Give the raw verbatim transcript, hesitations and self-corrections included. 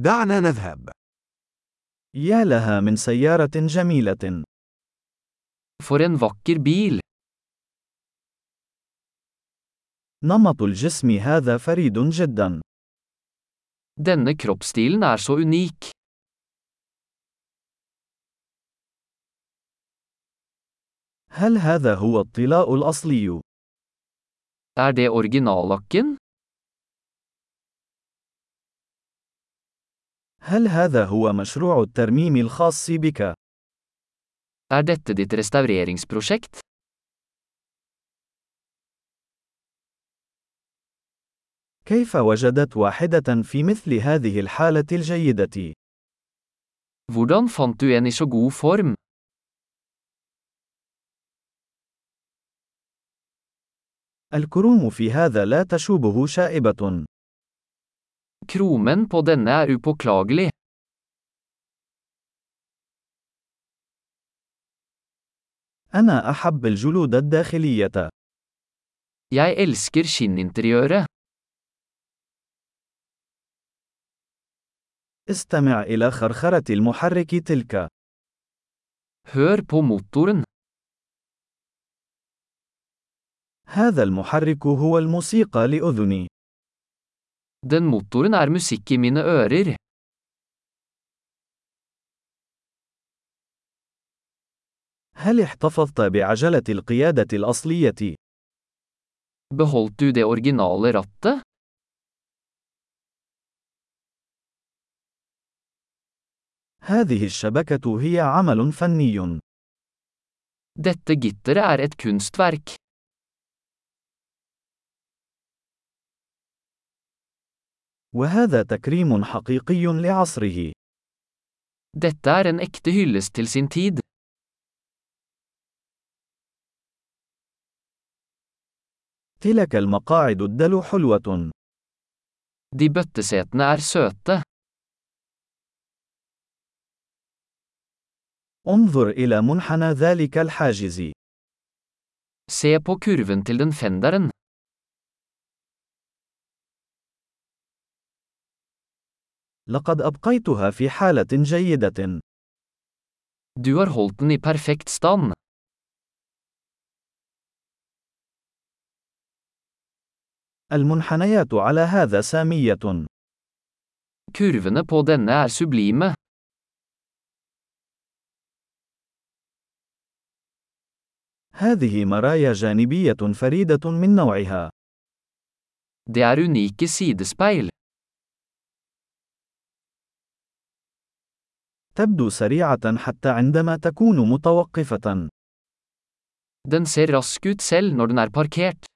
دعنا نذهب. يا لها من سيارة جميلة. For en vakker bil. نمط الجسم هذا فريد جدا. Denne kroppsstilen er så unik. هل هذا هو الطلاء الأصلي؟ Er det originallakken? هل هذا هو مشروع الترميم الخاص بك؟ Er dette ditt restaureringsprosjekt? كيف وجدت واحدة في مثل هذه الحالة الجيدة؟ Hvordan fant du en i så god form? الكروم في هذا لا تشوبه شائبة. Kromen på denne er upåklagelig. أنا أحب الجلود الداخلية. Jeg elsker skinninteriøret. استمع إلى خرخرة المحرك تلك. Hør på motoren. هذا المحرك هو الموسيقى لأذني. Den motoren er musikk i mine ører. هل احتفظت بعجلة القيادة الأصلية؟ Beholdt du det originale rattet? هذه الشبكة هي عمل فني. Dette gitteret er et kunstverk. وهذا تكريم حقيقي لعصره. Dette er en ekte hyllest til sin tid. تلك المقاعد الدلو حلوة. De bøttesetene er søte. انظر إلى منحنى ذلك الحاجز. Se på kurven til den fenderen. لقد أبقيتها في حالة جيدة. Du har holdt den i perfekt stand. المنحنيات على هذا سامية. Kurvene på denne er sublime. هذه مرايا جانبية فريدة من نوعها. Det er unike sidespeil. تبدو سريعة حتى عندما تكون متوقفة. Den ser rask ut selv når den er parkert.